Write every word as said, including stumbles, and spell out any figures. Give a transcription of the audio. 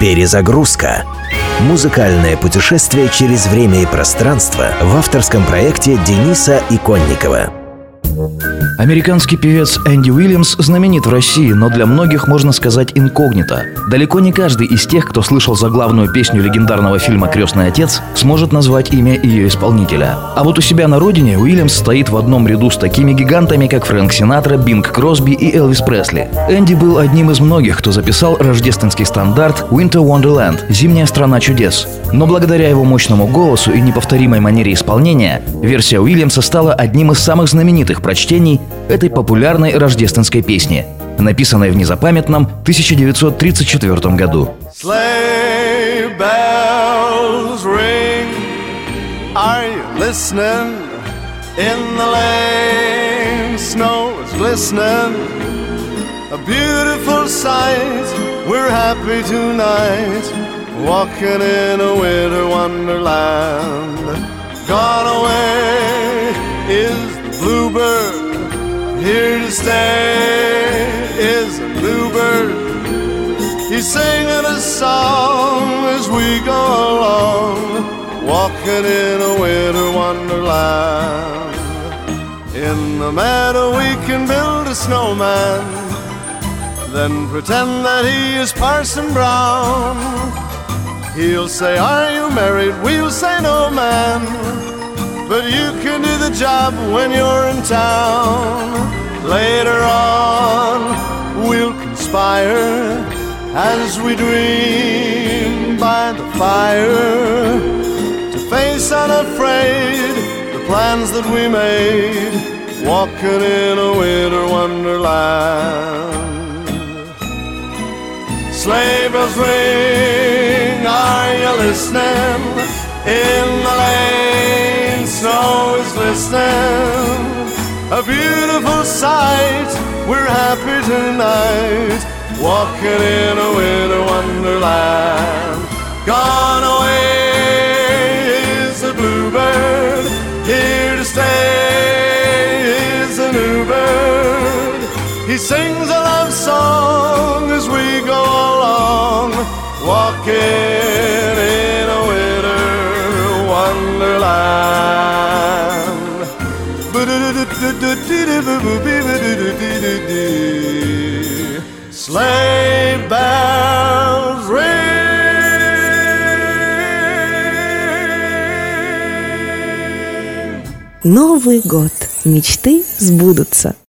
Перезагрузка. Музыкальное путешествие через время и пространство в авторском проекте Дениса Иконникова. Американский певец Энди Уильямс знаменит в России, но для многих, можно сказать, инкогнито. Далеко не каждый из тех, кто слышал заглавную песню легендарного фильма «Крестный отец», сможет назвать имя ее исполнителя. А вот у себя на родине Уильямс стоит в одном ряду с такими гигантами, как Фрэнк Синатра, Бинг Кросби и Элвис Пресли. Энди был одним из многих, кто записал рождественский стандарт «Winter Wonderland» – «Зимняя страна чудес». Но благодаря его мощному голосу и неповторимой манере исполнения, версия Уильямса стала одним из самых знаменитых прочтений этой популярной рождественской песни, написанной в незапамятном тысяча девятьсот тридцать четвёртом году. Sleigh bells ring, are you listening? In the lane, snow is glistening, a beautiful sight, we're happy tonight, walking in a winter wonderland. Gone away is the bluebird, here to stay is a bluebird. He's singing a song as we go along, walking in a winter wonderland. In the meadow we can build a snowman, then pretend that he is Parson Brown. He'll say, are you married? We'll say, no, man, but you can do the job when you're in town. Later on, we'll conspire as we dream by the fire to face unafraid the plans that we made, walking in a winter wonderland. Sleigh bells ring, are you listening? In the lane, snow is glistening, a beautiful sight, we're happy tonight, walking in a winter wonderland. Gone away is the bluebird, here to stay is a new bird. He sings a love song as we go along, walking in a winter wonderland. Sleigh bells ring. Новый год. Мечты сбудутся.